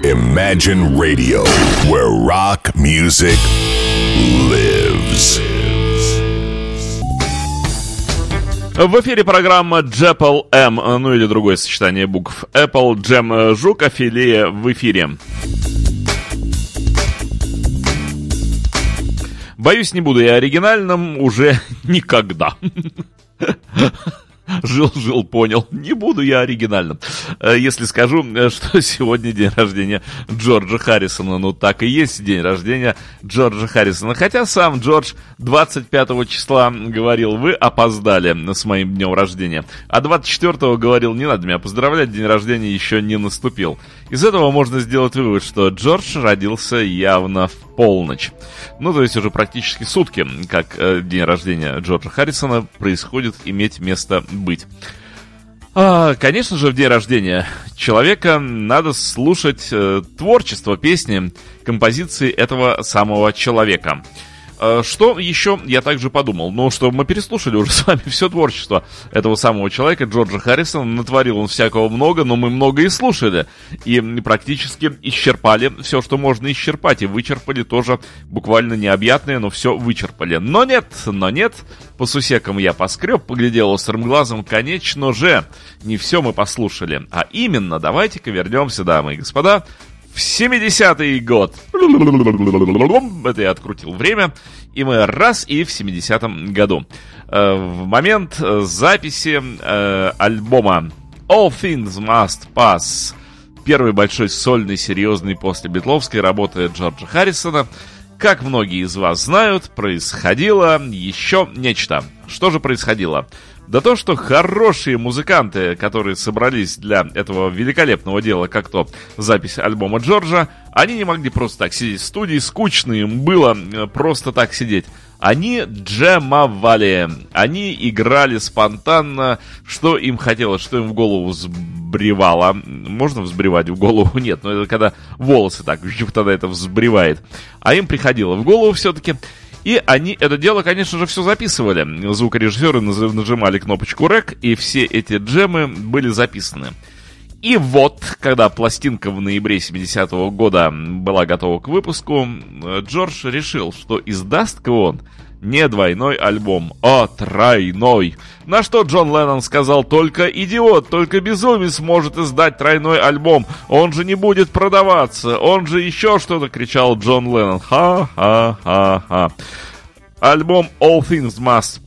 Imagine Radio, where rock music lives. В эфире программа Джепл М, ну или другое сочетание букв. Apple Jam Жук, Афилия в эфире. Боюсь, не буду я оригинальным уже никогда. Жил, понял. Не буду я оригинальным. Если скажу, что сегодня день рождения Джорджа Харрисона. Ну, так и есть день рождения Джорджа Харрисона. Хотя сам Джордж 25 числа говорил: вы опоздали с моим днем рождения. А 24-го говорил: не надо меня поздравлять, день рождения еще не наступил. Из этого можно сделать вывод, что Джордж родился явно в полночь. Ну, то есть уже практически сутки, как день рождения Джорджа Харрисона происходит иметь место быть. Конечно же, в день рождения человека надо слушать творчество, песни, композиции этого самого человека. Что еще я также подумал? Ну, что мы переслушали уже с вами все творчество этого самого человека, Джорджа Харрисона. Натворил он всякого много, но мы много и слушали. И практически исчерпали все, что можно исчерпать. И вычерпали тоже буквально необъятное, но все вычерпали. Но нет, по сусекам я поскреб, поглядел острым глазом. Конечно же, не все мы послушали. А именно, давайте-ка вернемся, дамы и господа, в 70-й год. Это я открутил время. И мы раз и в 70-м году. В момент записи альбома All Things Must Pass, первый большой сольный, серьезный после битловской работы Джорджа Харрисона, как многие из вас знают, происходило еще нечто. Что же происходило? Да то, что хорошие музыканты, которые собрались для этого великолепного дела, как то запись альбома Джорджа, они не могли просто так сидеть в студии, скучно им было просто так сидеть. Они джемовали, они играли спонтанно, что им хотелось, что им в голову взбревало. Можно взбревать в голову? Нет, но это когда волосы так, тогда это взбревает. А им приходило в голову все-таки. И они это дело, конечно же, все записывали. Звукорежиссеры нажимали кнопочку «Рек», и все эти джемы были записаны. И вот, когда пластинка в ноябре 70-го года была готова к выпуску, Джордж решил, что издаст-ка он не двойной альбом, а тройной. На что Джон Леннон сказал: только идиот, только безумец может издать тройной альбом. Он же не будет продаваться, он же еще что-то, кричал Джон Леннон. Ха-ха-ха-ха. Альбом All Things Must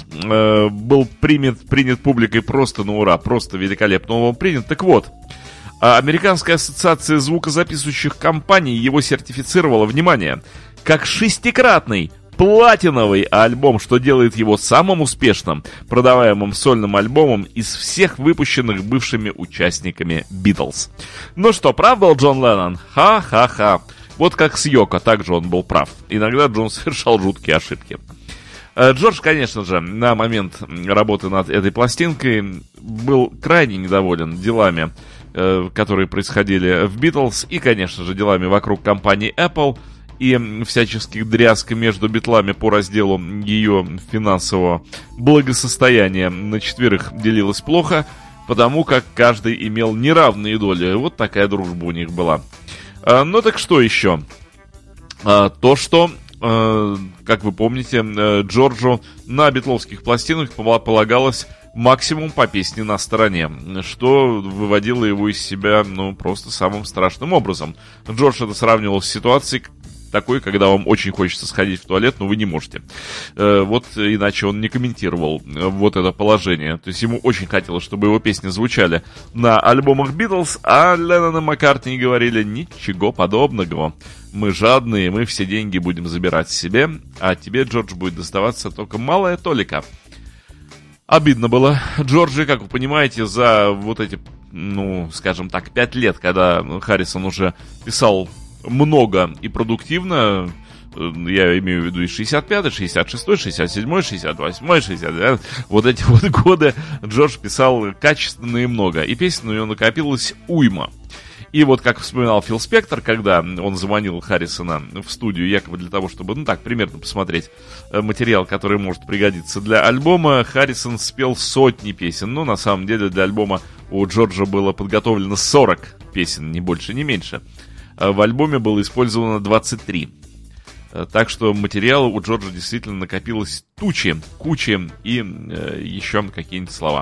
Pass был принят публикой просто на ура, просто великолепно он был принят. Так вот, Американская ассоциация звукозаписывающих компаний его сертифицировала, внимание, как 6-кратный платиновый альбом, что делает его самым успешным продаваемым сольным альбомом из всех выпущенных бывшими участниками Битлз. Ну что, прав был Джон Леннон? Ха-ха-ха. Вот как с Йоко, также он был прав. Иногда Джон совершал жуткие ошибки. Джордж, конечно же, на момент работы над этой пластинкой был крайне недоволен делами, которые происходили в Битлз, и, конечно же, делами вокруг компании Apple, и всяческих дрязг между битлами по разделу ее финансового благосостояния на четверых делилось плохо, потому как каждый имел неравные доли. Вот такая дружба у них была. Ну так что еще? То, что, как вы помните, Джорджу на битловских пластинках полагалось максимум по песне на стороне, что выводило его из себя, просто самым страшным образом. Джордж это сравнивал с ситуацией такой, когда вам очень хочется сходить в туалет, но вы не можете. Вот иначе он не комментировал вот это положение. То есть ему очень хотелось, чтобы его песни звучали на альбомах Битлз, а Леннон и Маккартни говорили: ничего подобного. Мы жадные, мы все деньги будем забирать себе, а тебе, Джордж, будет доставаться только малая толика. Обидно было Джорджи, как вы понимаете, за вот эти, скажем так, 5 лет, когда Харрисон уже писал много и продуктивно, я имею в виду и 65-й, 66-й, 67-й, 68-й, 69-й, вот эти вот годы Джордж писал качественно и много, и песен у него накопилось уйма. И вот как вспоминал Фил Спектор, когда он заманил Харрисона в студию, якобы для того, чтобы, примерно посмотреть материал, который может пригодиться для альбома, Харрисон спел сотни песен, но на самом деле для альбома у Джорджа было подготовлено 40 песен, ни больше, ни меньше. В альбоме было использовано 23. Так что материала у Джорджа действительно накопилось кучи и еще какие-нибудь слова.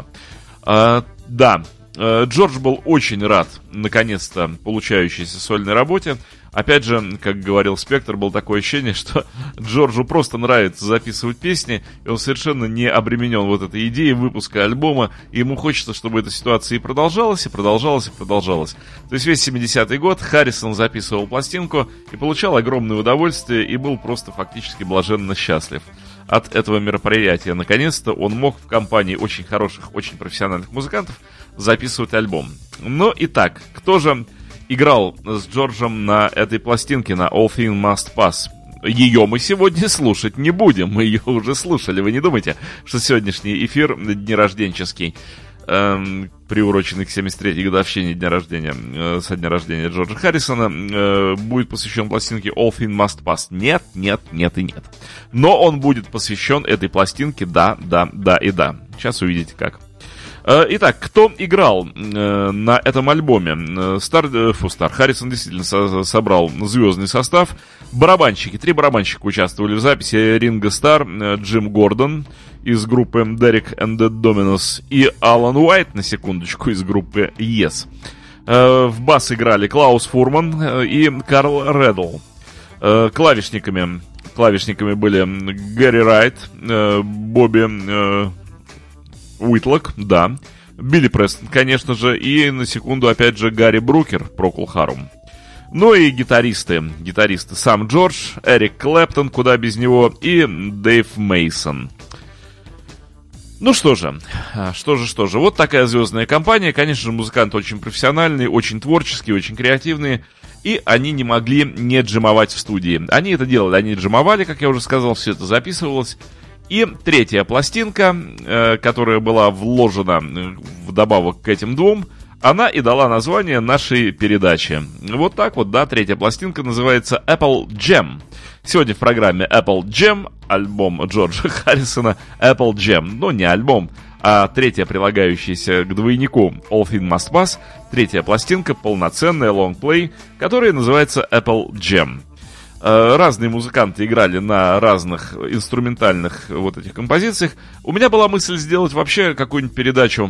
Да, Джордж был очень рад, наконец-то, получающейся сольной работе. Опять же, как говорил Спектр, было такое ощущение, что Джорджу просто нравится записывать песни, и он совершенно не обременен вот этой идеей выпуска альбома, и ему хочется, чтобы эта ситуация и продолжалась, и продолжалась, и продолжалась. То есть весь 70-й год Харрисон записывал пластинку и получал огромное удовольствие, и был просто фактически блаженно счастлив от этого мероприятия. Наконец-то он мог в компании очень хороших, очень профессиональных музыкантов записывать альбом. Но итак, кто же играл с Джорджем на этой пластинке, на All Things Must Pass? Ее мы сегодня слушать не будем, мы ее уже слушали. Вы не думайте, что сегодняшний эфир днерожденческий, приуроченный к 73-й годовщине со дня рождения Джорджа Харрисона, будет посвящен пластинке All Things Must Pass. Нет и нет. Но он будет посвящен этой пластинке, да и да. Сейчас увидите как. Итак, кто играл на этом альбоме? Харрисон действительно собрал звездный состав. Барабанщики, 3 барабанщика участвовали в записи: Ринго Старр, Джим Гордон из группы Derek and the Dominos и Алан Уайт, на секундочку, из группы Yes. В бас играли Клаус Фурман и Карл Реддл. Клавишниками были Гэри Райт, Бобби Уитлок, да, Билли Престон, конечно же, и на секунду, опять же, Гарри Брукер, Прокл Харум. Ну и гитаристы сам Джордж, Эрик Клэптон, куда без него, и Дэйв Мейсон. Ну что же, вот такая звездная компания. Конечно же, музыканты очень профессиональные, очень творческие, очень креативные, и они не могли не джимовать в студии. Они это делали, они джимовали, как я уже сказал, все это записывалось. И 3-я пластинка, которая была вложена вдобавок к этим 2, она и дала название нашей передаче. Вот так вот, да, 3-я пластинка называется Apple Jam. Сегодня в программе Apple Jam, альбом Джорджа Харрисона Apple Jam. Но не альбом, а 3-я, прилагающаяся к двойнику All Things Must Pass, 3-я пластинка, полноценная лонгплей, которая называется Apple Jam. Разные музыканты играли на разных инструментальных вот этих композициях. У меня была мысль сделать вообще какую-нибудь передачу,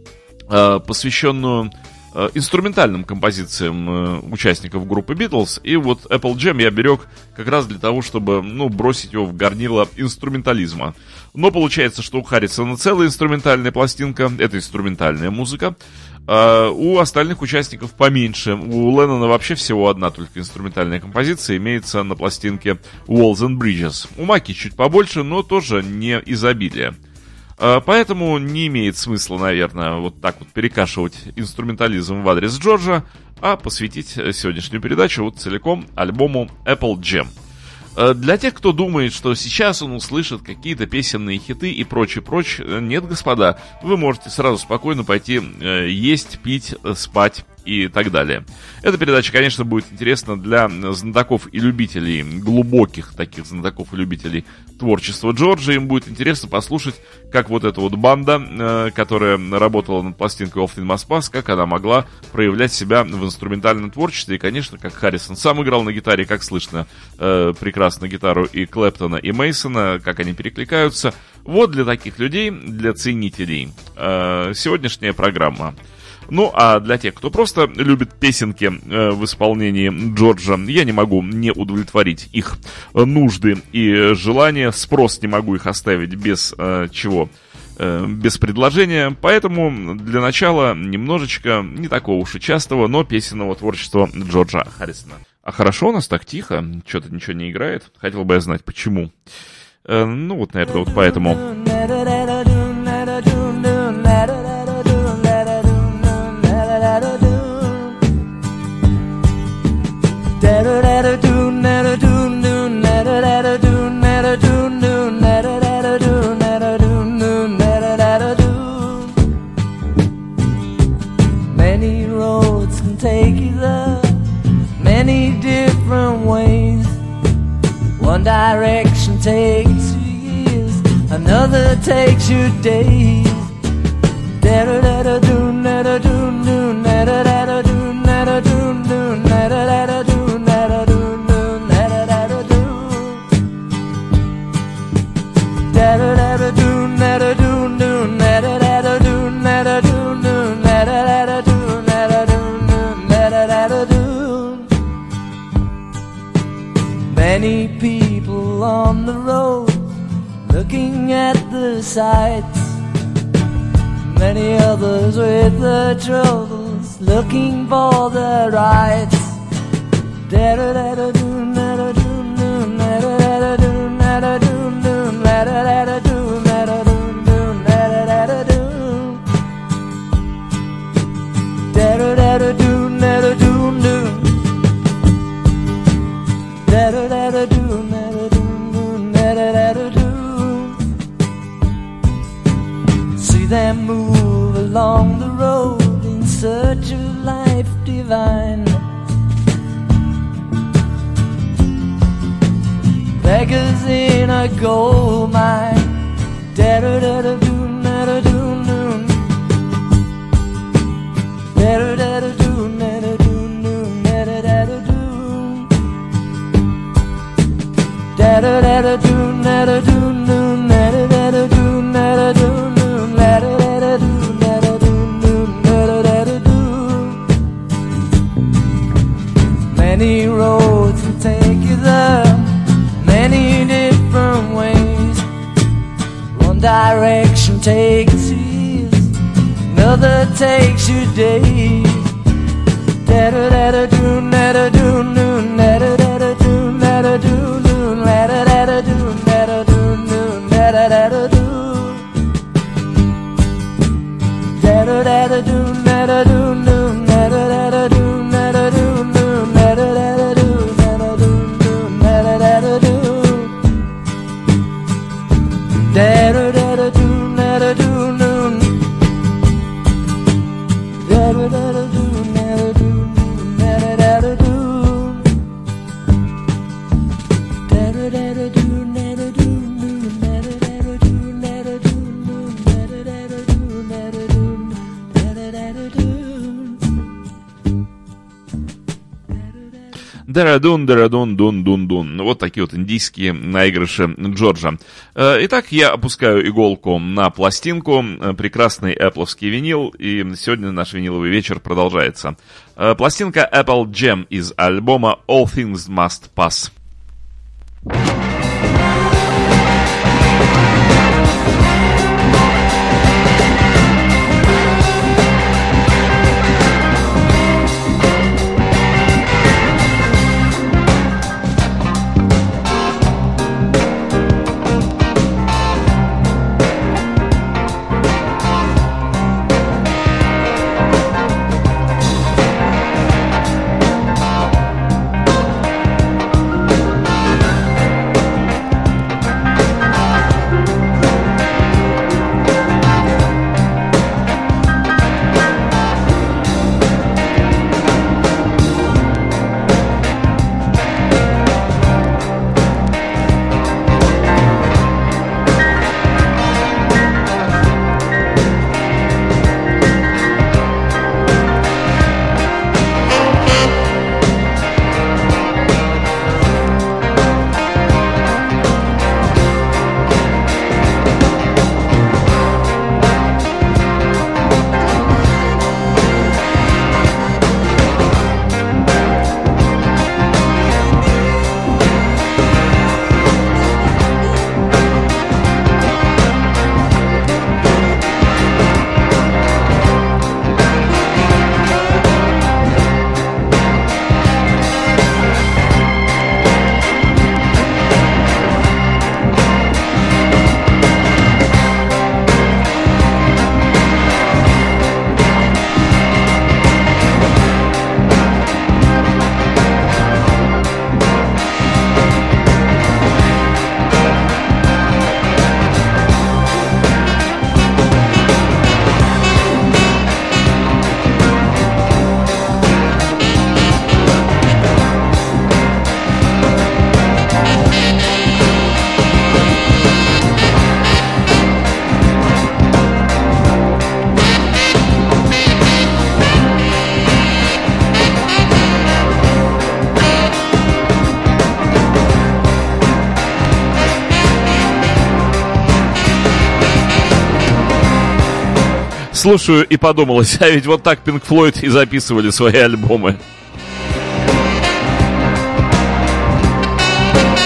посвященную инструментальным композициям участников группы Beatles. И вот Apple Jam я берег как раз для того, чтобы, бросить его в горнило инструментализма. Но получается, что у Харрисона целая инструментальная пластинка, это инструментальная музыка. У остальных участников поменьше. У Леннона вообще всего одна только инструментальная композиция имеется на пластинке Walls and Bridges. У Маки чуть побольше, но тоже не изобилие. Поэтому не имеет смысла, наверное, вот так вот перекашивать инструментализм в адрес Джорджа, а посвятить сегодняшнюю передачу вот целиком альбому Apple Jam. Для тех, кто думает, что сейчас он услышит какие-то песенные хиты и прочее, нет, господа, вы можете сразу спокойно пойти есть, пить, спать и так далее. Эта передача, конечно, будет интересна для знатоков и любителей, глубоких таких знатоков и любителей творчества Джорджа. Им будет интересно послушать, как вот эта вот банда, которая работала над пластинкой All Things Must Pass, как она могла проявлять себя в инструментальном творчестве. И, конечно, как Харрисон сам играл на гитаре, как слышно прекрасно гитару и Клэптона, и Мейсона, как они перекликаются. Вот для таких людей, для ценителей, сегодняшняя программа. Ну, а для тех, кто просто любит песенки в исполнении Джорджа, я не могу не удовлетворить их нужды и желания, спрос не могу их оставить без без предложения. Поэтому для начала немножечко не такого уж и частого, но песенного творчества Джорджа Харрисона. А хорошо у нас так тихо, что-то ничего не играет. Хотел бы я знать, почему. Ну, вот, наверное, вот поэтому. Many roads can take you there, many different ways. One direction takes you years, another takes you days. Da da da da do, da da do, da da da da do, da da Many people on the road looking at the sights. Many others with their troubles looking for their rights. See them move along the road in search of life divine. Beggars in a gold mine. Many roads will take you there, many different ways. One direction takes you years, another takes you days. Дарадун, дарадун, дун, дун, дун. Вот такие вот индийские наигрыши Джорджа. Итак, я опускаю иголку на пластинку. Прекрасный Apple'овский винил. И сегодня наш виниловый вечер продолжается. Пластинка Apple Jam из альбома All Things Must Pass. Слушаю и подумалось, а ведь вот так Pink Floyd и записывали свои альбомы.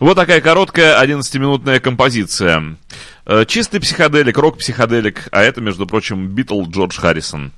Вот такая короткая 11-минутная композиция. Чистый психоделик, рок-психоделик, а это, между прочим, Битл Джордж Харрисон.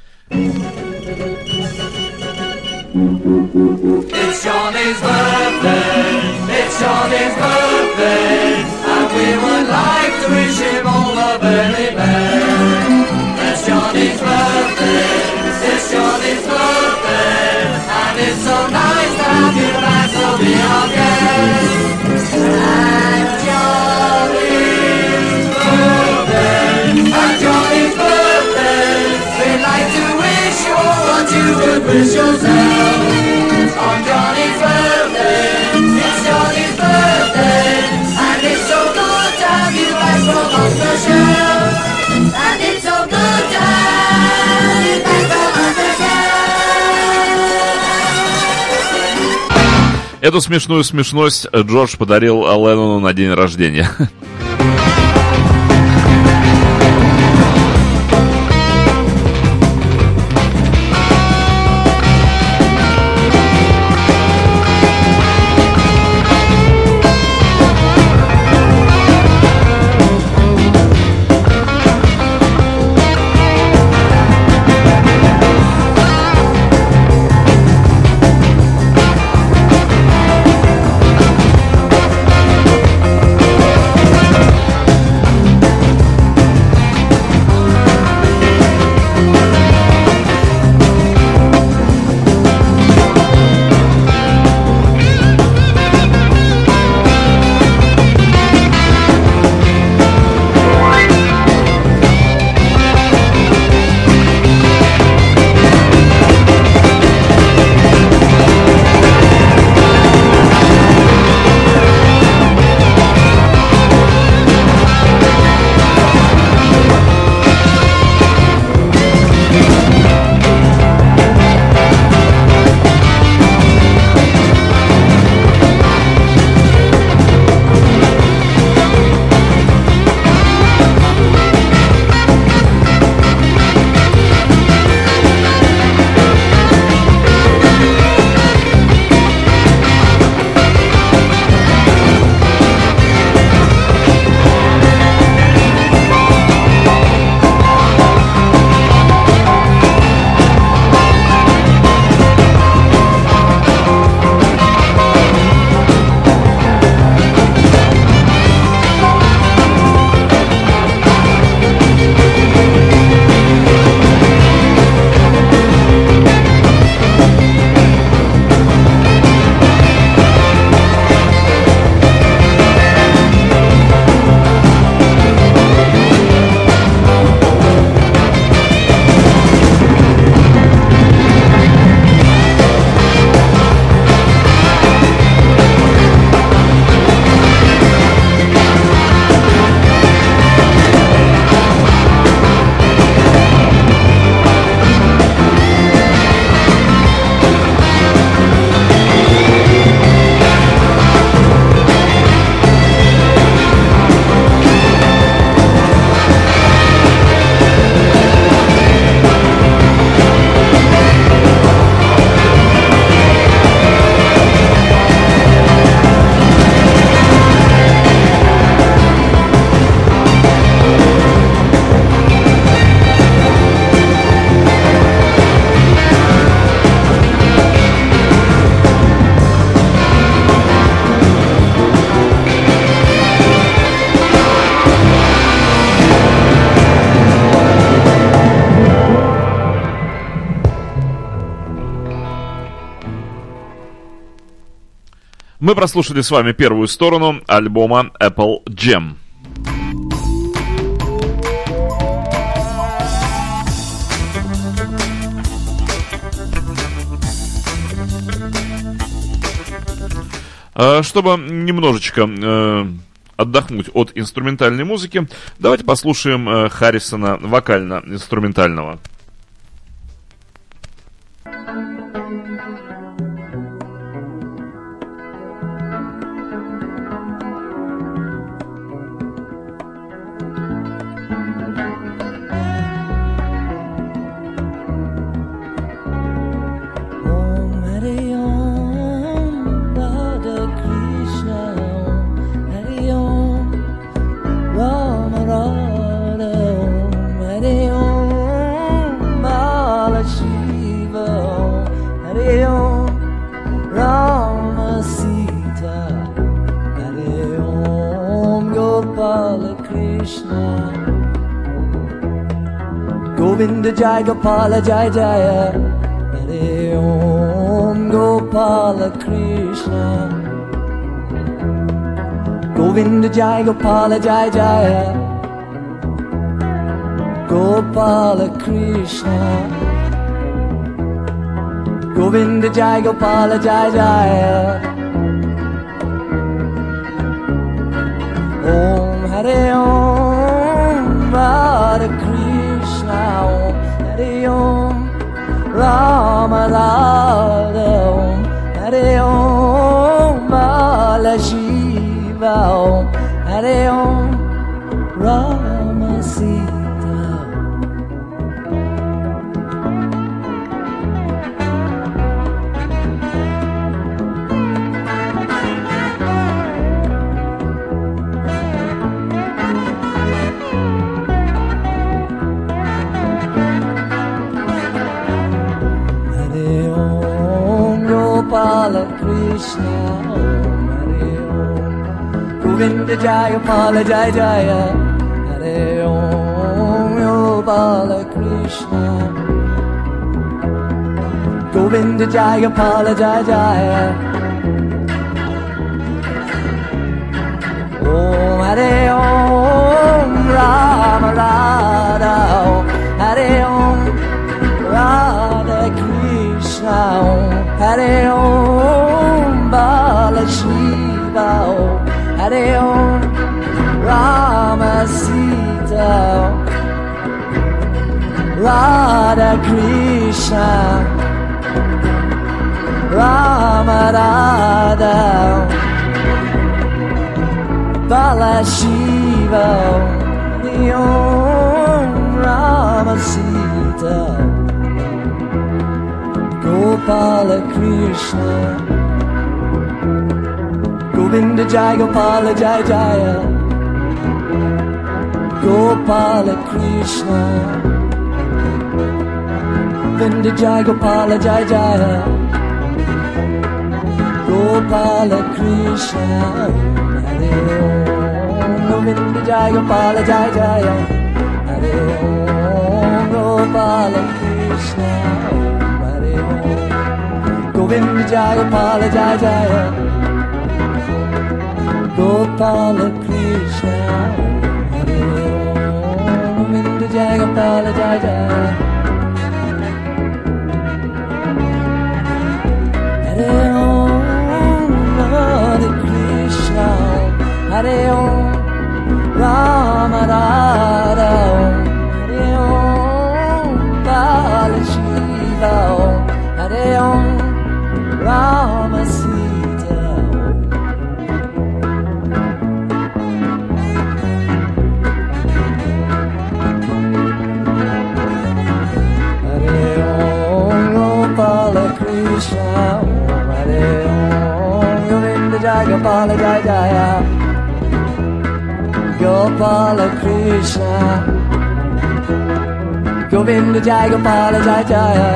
It's Johnny's birthday, it's Johnny's birthday, and we would like to wish him all the very best. It's Johnny's birthday, it's Johnny's birthday, and it's so nice to have you back, so be our guest. And Johnny's birthday, and Johnny's birthday, we'd like to wish you all what you would wish yourself. On Johnny's birthday, it's Johnny's birthday, and it's so good to have you back from off the shelf. And it's so good to have you back from off the shelf. Эту смешную смешность Джордж подарил Леннону на день рождения. Мы прослушали с вами первую сторону альбома Apple Jam. Чтобы немножечко отдохнуть от инструментальной музыки, давайте послушаем Харрисона вокально-инструментального. Om Hare Om Radha Krishna Govinda Jai Gopala Jai Jaya Hare Om Gopala Krishna Govinda Jai Gopala Jai Jaya Gopala Krishna Govinda Jai Gopala Jai Jaya Om Hare Om Radha Krishna Om Hare Om Rama Radha Om Hare Om Bala Shiva Om Hare Om Rama Sita Gopala Krishna Om Hare Om Govinda Jai Gopala Jai Jaya Hare Om Gopala Krishna Govinda Jai Gopala Jai Jaya Om Hare Om Rama Radha Om Hare Om Radha Krishna Om Hare Om Bala Shiva Om Hare Om Rama Sita Radha Krishna Rama Radha Bala Shiva Hare Om Rama Sita Gopala Krishna Govinda Jai Gopala Jai Jaya Gopala Krishna Govinda Jai Gopala Jai Jaya Gopala Krishna Hare Om Govinda Jai Gopala Jai Jaya Hare Om Gopala Krishna Govinda Jai Gopala Jai Jaya Gopala Krishna Hare Om Govinda Jai Gopala Jai Jaya Hare Om Hare Krishna Hare Om Rama Radha Om Hare Om Bala Shiva Om Hare Om Rama Sita Hare Om Gopala Krishna Hare Om Govinda Jai Gopala Jai Jaya Gopala Krishna Govinda Jai Gopala Jai Jaya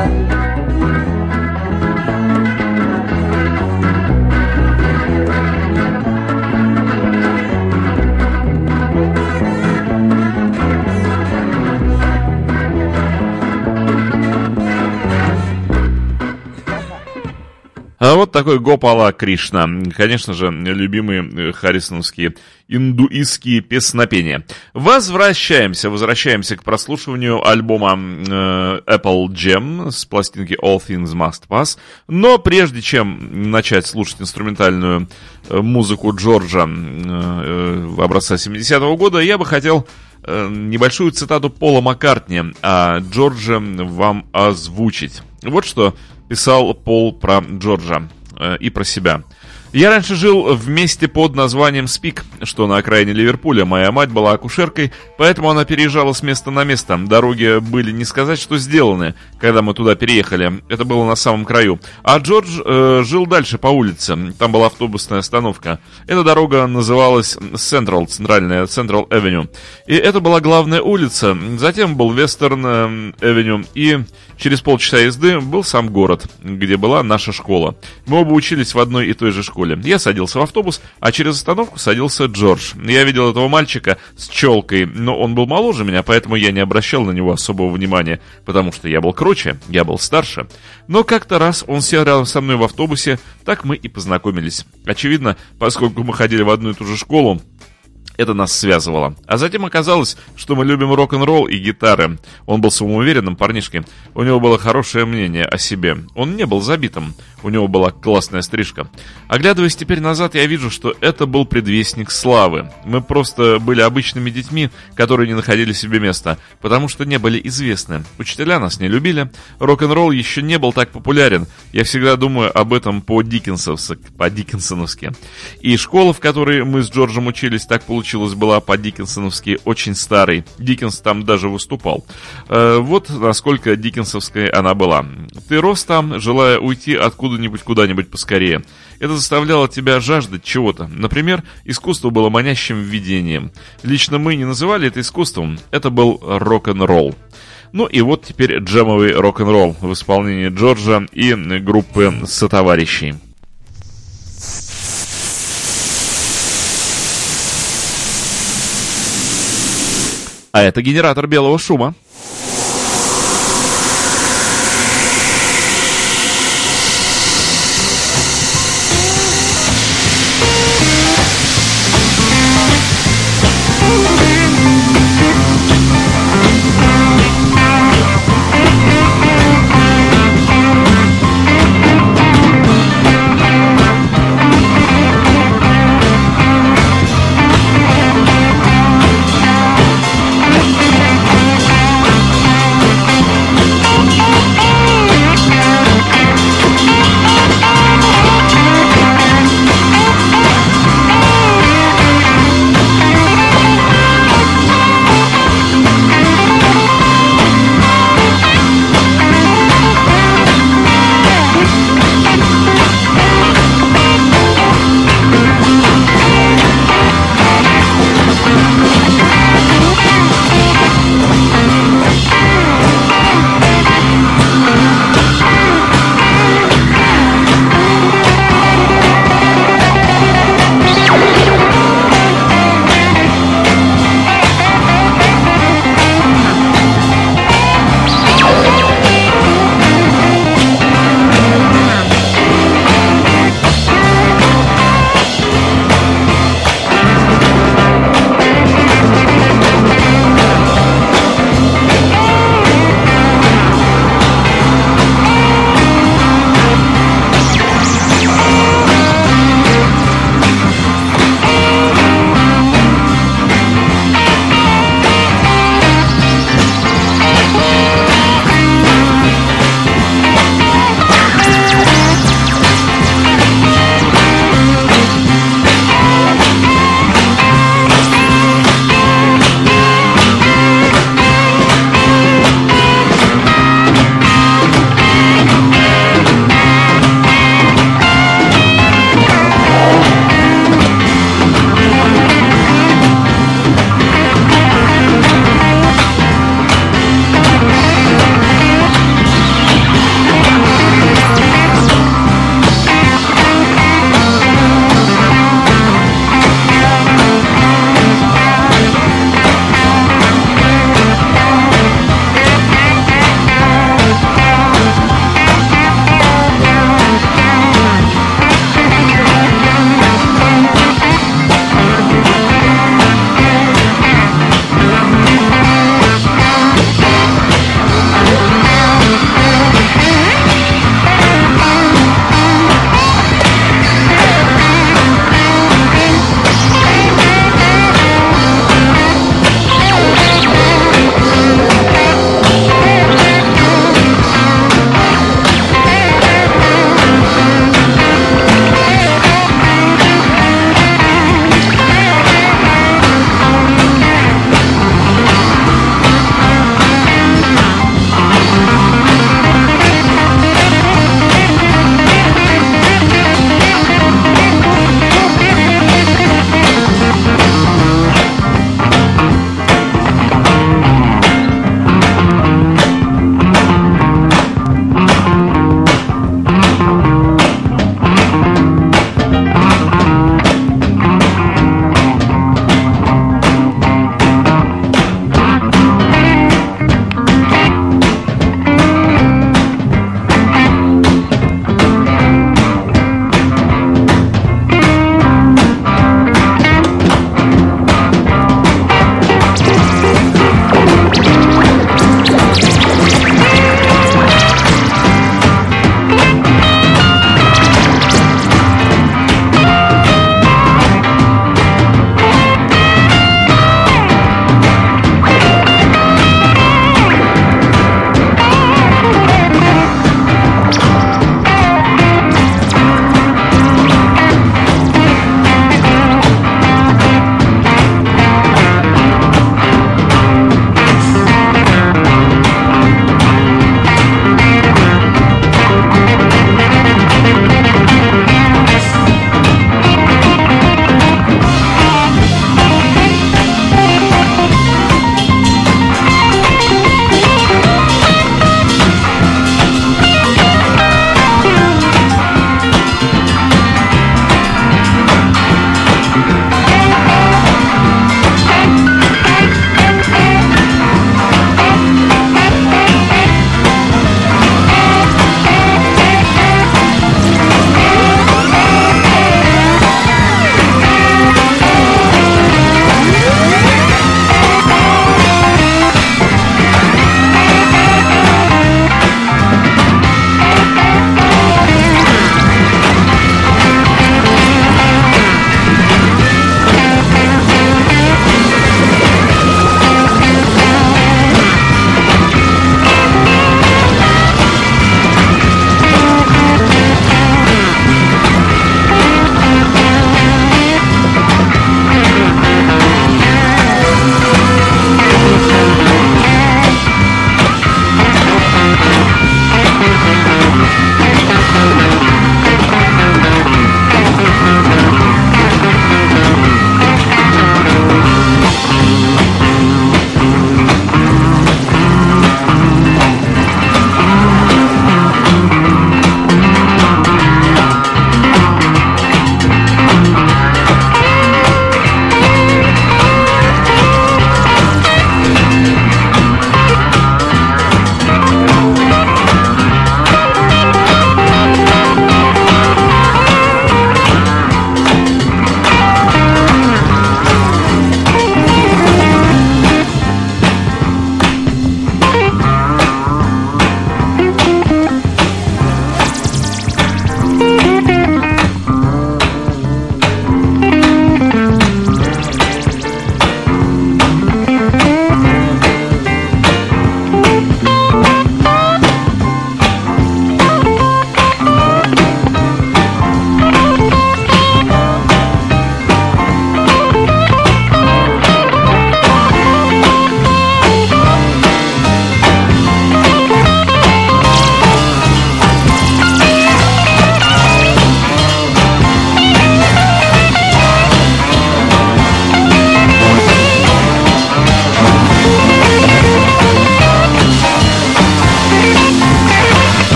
А вот такой Гопала Кришна. Конечно же, любимые харрисоновские индуистские песнопения. Возвращаемся к прослушиванию альбома Apple Jam с пластинки All Things Must Pass. Но прежде чем начать слушать инструментальную музыку Джорджа образца 70-го года, я бы хотел небольшую цитату Пола Маккартни о Джордже вам озвучить. Вот что писал Пол про Джорджа и про себя. «Я раньше жил в месте под названием Спик, что на окраине Ливерпуля. Моя мать была акушеркой, поэтому она переезжала с места на место. Дороги были не сказать, что сделаны, когда мы туда переехали. Это было на самом краю. А Джордж жил дальше по улице. Там была автобусная остановка. Эта дорога называлась центральная Central Avenue. И это была главная улица. Затем был Western Avenue и Через полчаса езды был сам город, где была наша школа. Мы оба учились в одной и той же школе. Я садился в автобус, а через остановку садился Джордж. Я видел этого мальчика с челкой, но он был моложе меня, поэтому я не обращал на него особого внимания, потому что я был круче, я был старше. Но как-то раз он сел рядом со мной в автобусе, так мы и познакомились. Очевидно, поскольку мы ходили в одну и ту же школу, это нас связывало. А затем оказалось, что мы любим рок-н-ролл и гитары. Он был самоуверенным парнишкой. У него было хорошее мнение о себе. Он не был забитым. У него была классная стрижка. Оглядываясь теперь назад, я вижу, что это был предвестник славы. Мы просто были обычными детьми, которые не находили себе места, потому что не были известны. Учителя нас не любили. Рок-н-ролл еще не был так популярен. Я всегда думаю об этом по-диккенсоновски. И школа, в которой мы с Джорджем учились, так получилось, была по-диккенсоновски очень старой. Диккенс там даже выступал. Вот насколько диккенсовской она была. Ты рос там, желая уйти откуда-нибудь куда-нибудь поскорее. Это заставляло тебя жаждать чего-то. Например, искусство было манящим видением. Лично мы не называли это искусством. Это был рок-н-ролл. Ну и вот теперь джемовый рок-н-ролл в исполнении Джорджа и группы сотоварищей. А это генератор белого шума.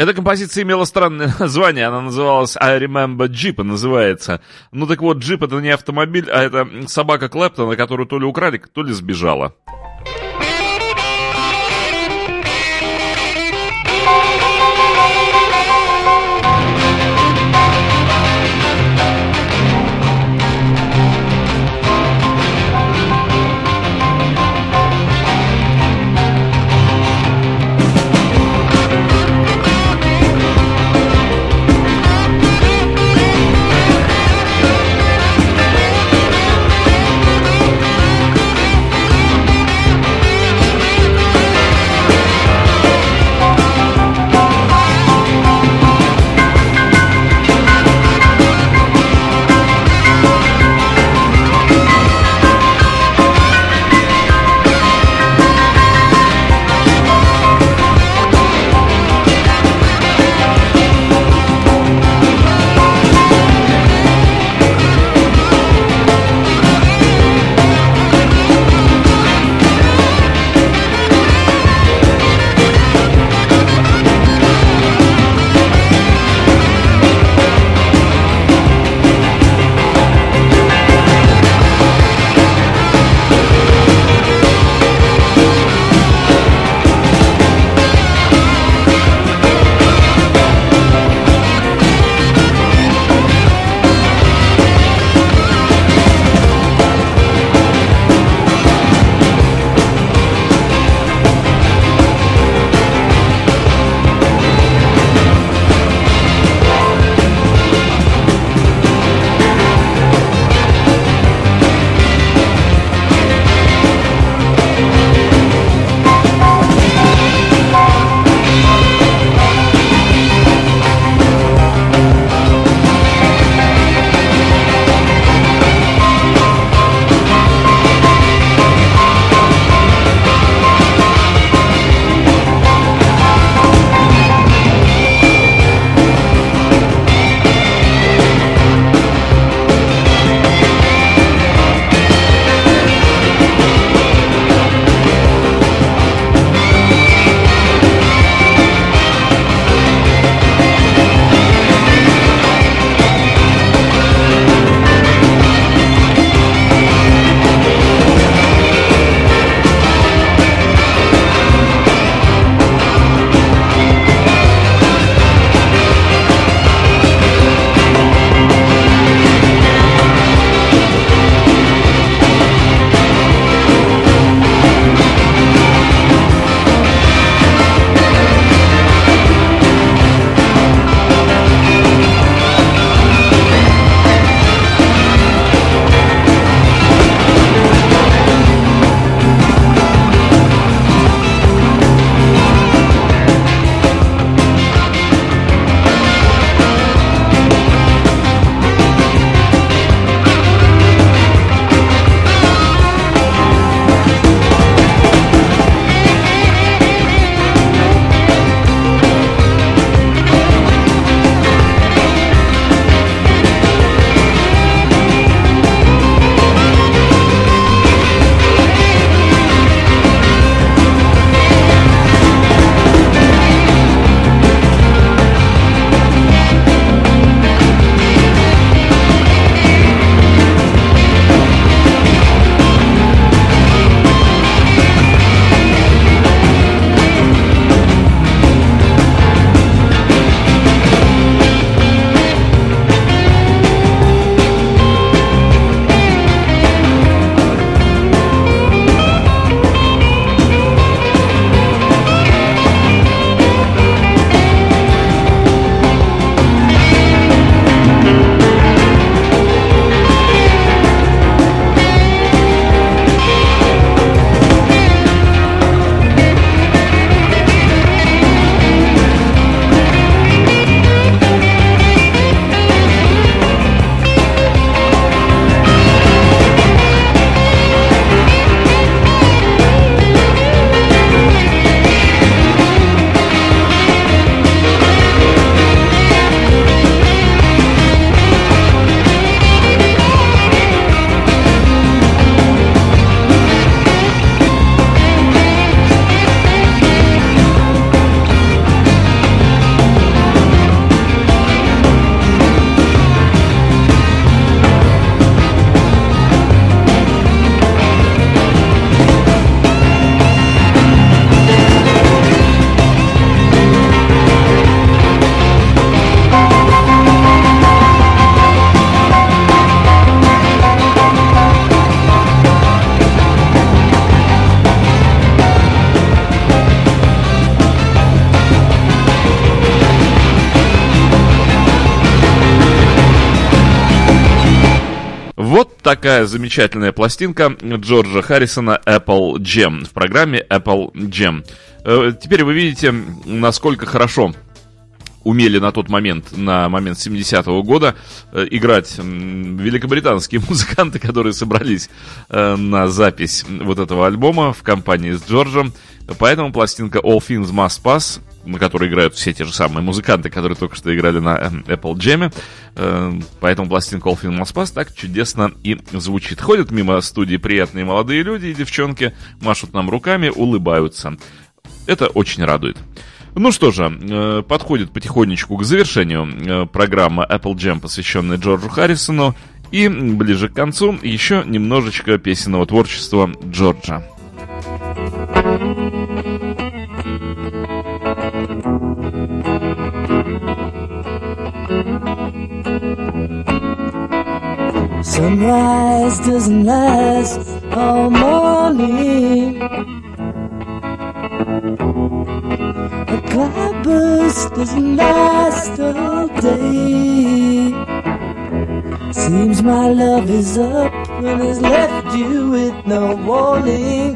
Эта композиция имела странное название, она называлась I Remember Jeep, называется. Ну так вот, джип это не автомобиль, а это собака Клэптона, которую то ли украли, то ли сбежала. такая замечательная пластинка Джорджа Харрисона Apple Jam в программе Apple Jam. Теперь вы видите, насколько хорошо умели на тот момент, на момент 70-го года, играть великобританские музыканты, которые собрались на запись вот этого альбома в компании с Джорджем. Поэтому пластинка All Things Must Pass, на которой играют все те же самые музыканты, которые только что играли на Apple Jam, поэтому пластинка All Things Must Pass так чудесно и звучит. Ходят мимо студии приятные молодые люди и девчонки, машут нам руками, улыбаются. Это очень радует. Ну что же, подходит потихонечку к завершению программа Apple Jam, посвященная Джорджу Харрисону. И ближе к концу еще немножечко песенного творчества Джорджа. Sunrise doesn't last all morning. A cloudburst doesn't last all day. Seems my love is up and has left you with no warning.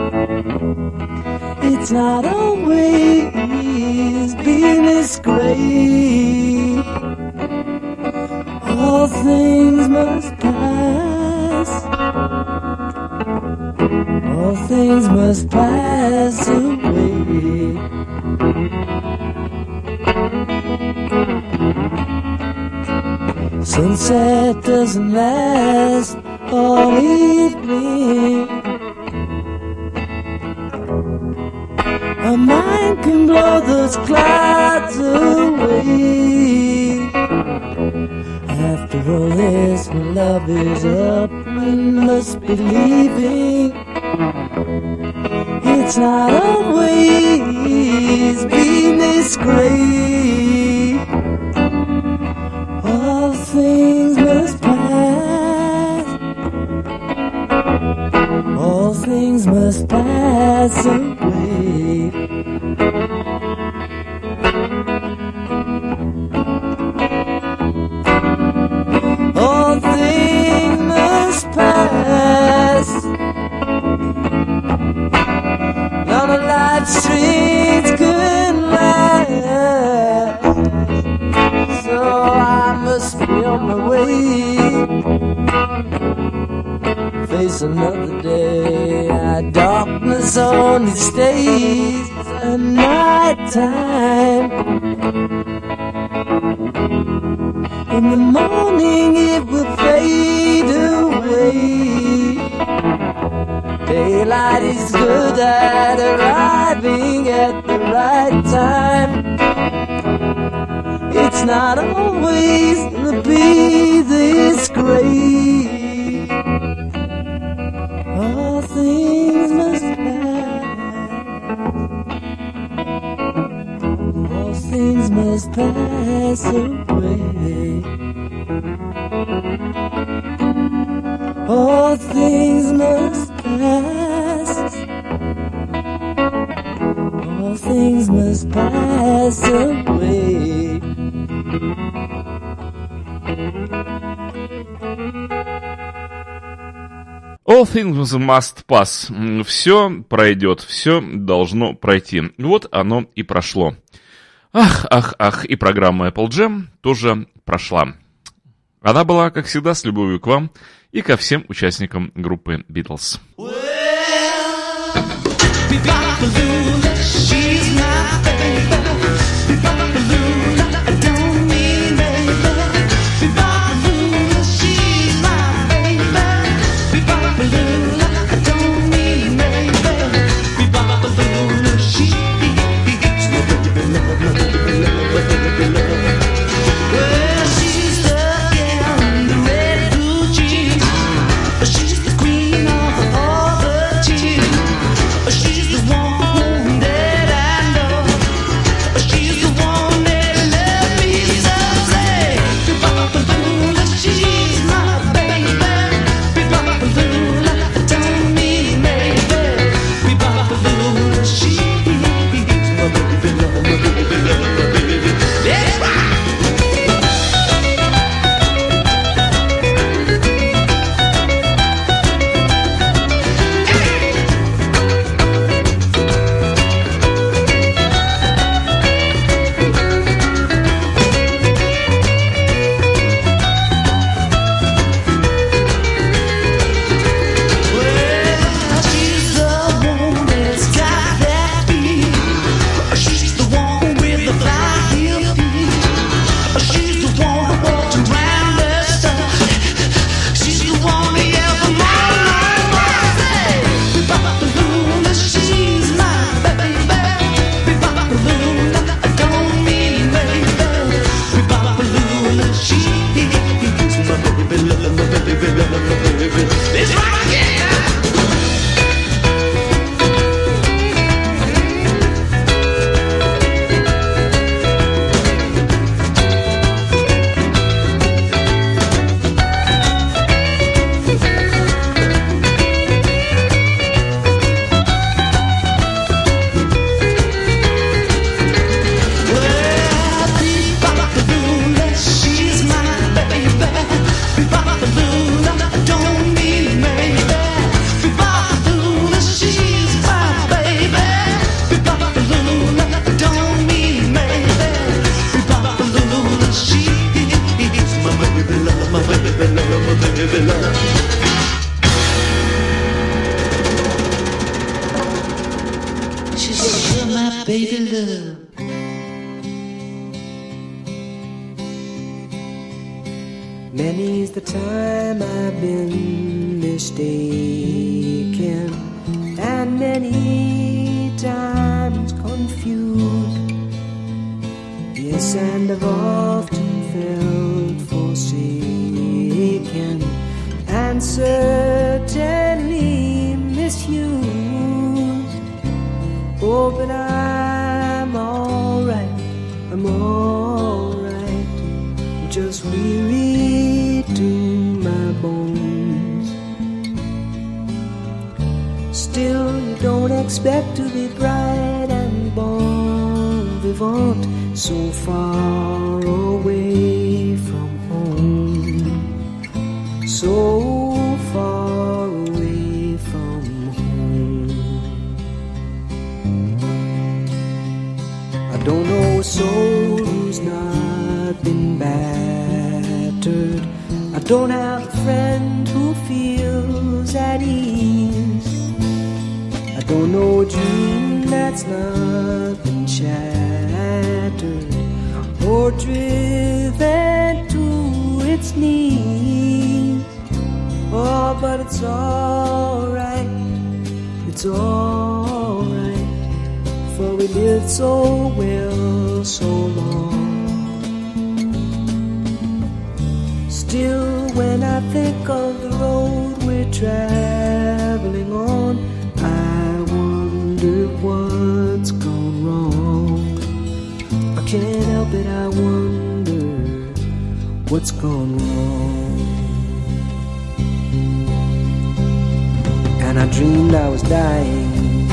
It's not always been this great. All things must pass. All things must pass away. Sunset doesn't last all evening. A mind can blow those clouds away. After all this, my love is up, we must be leaving. It's not always been this great. All things must pass. All things must pass away. All things must pass. None of life's streets can last. So I must be on my way. Face another day. Darkness only stays at night time. In the morning it will fade away. Daylight is good at arriving at the right time. It's not always gonna be this great. All things must pass. All things must pass away. All things must pass. All things must pass away. All things must pass. Все пройдет, все должно пройти. Вот оно и прошло. Ах, ах, ах, и программа Apple Jam тоже прошла. Она была, как всегда, с любовью к вам и ко всем участникам группы Beatles. She's the queen of all baby love. Many's the time I've been mistaken, and many times confused. Yes, and I've often felt forsaken, and certainly misused. Oh, but I'm alright, I'm alright, I'm just weary to my bones. Still, you don't expect to be bright and bon vivant so far away from home, so far away from home. I don't know a soul who's not been battered. I don't have a friend who feels at ease. I don't know a dream that's not been shattered or driven to its knees. Oh, but it's alright, it's alright, for we lived so well so long. Still, when I think of the road we're traveling on, I wonder what's gone wrong. I can't help it, I wonder what's gone wrong. And I dreamed I was dying.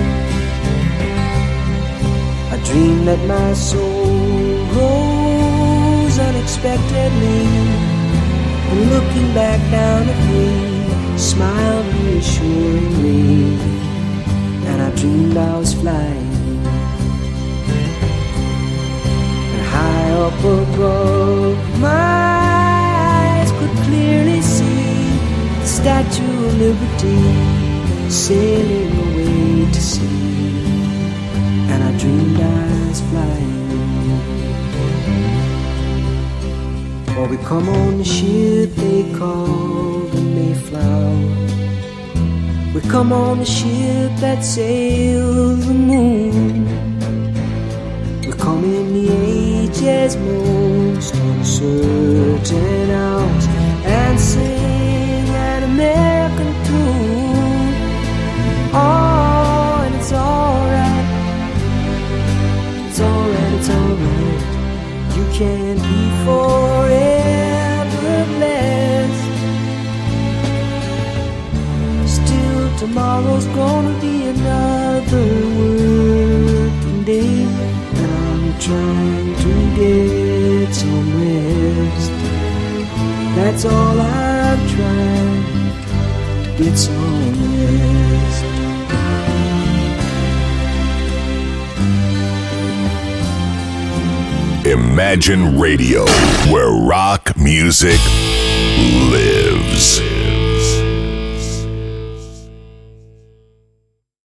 I dreamed that my soul rose unexpectedly, and looking back down at me, smiled reassuringly. And I dreamed I was flying, and high up above, my eyes could clearly see the Statue of Liberty sailing away to sea. And I dreamed I was flying. Or we come on the ship they call the Mayflower. We come on the ship that sails the moon. We come in the age's most uncertain hours and sing an American tune. Oh, and it's alright, it's alright, it's alright. You can't be forever blessed. Still, tomorrow's gonna be another working day, and I'm trying to get some rest. That's all I'm trying, to get some rest. Imagine Radio, where rock music lives.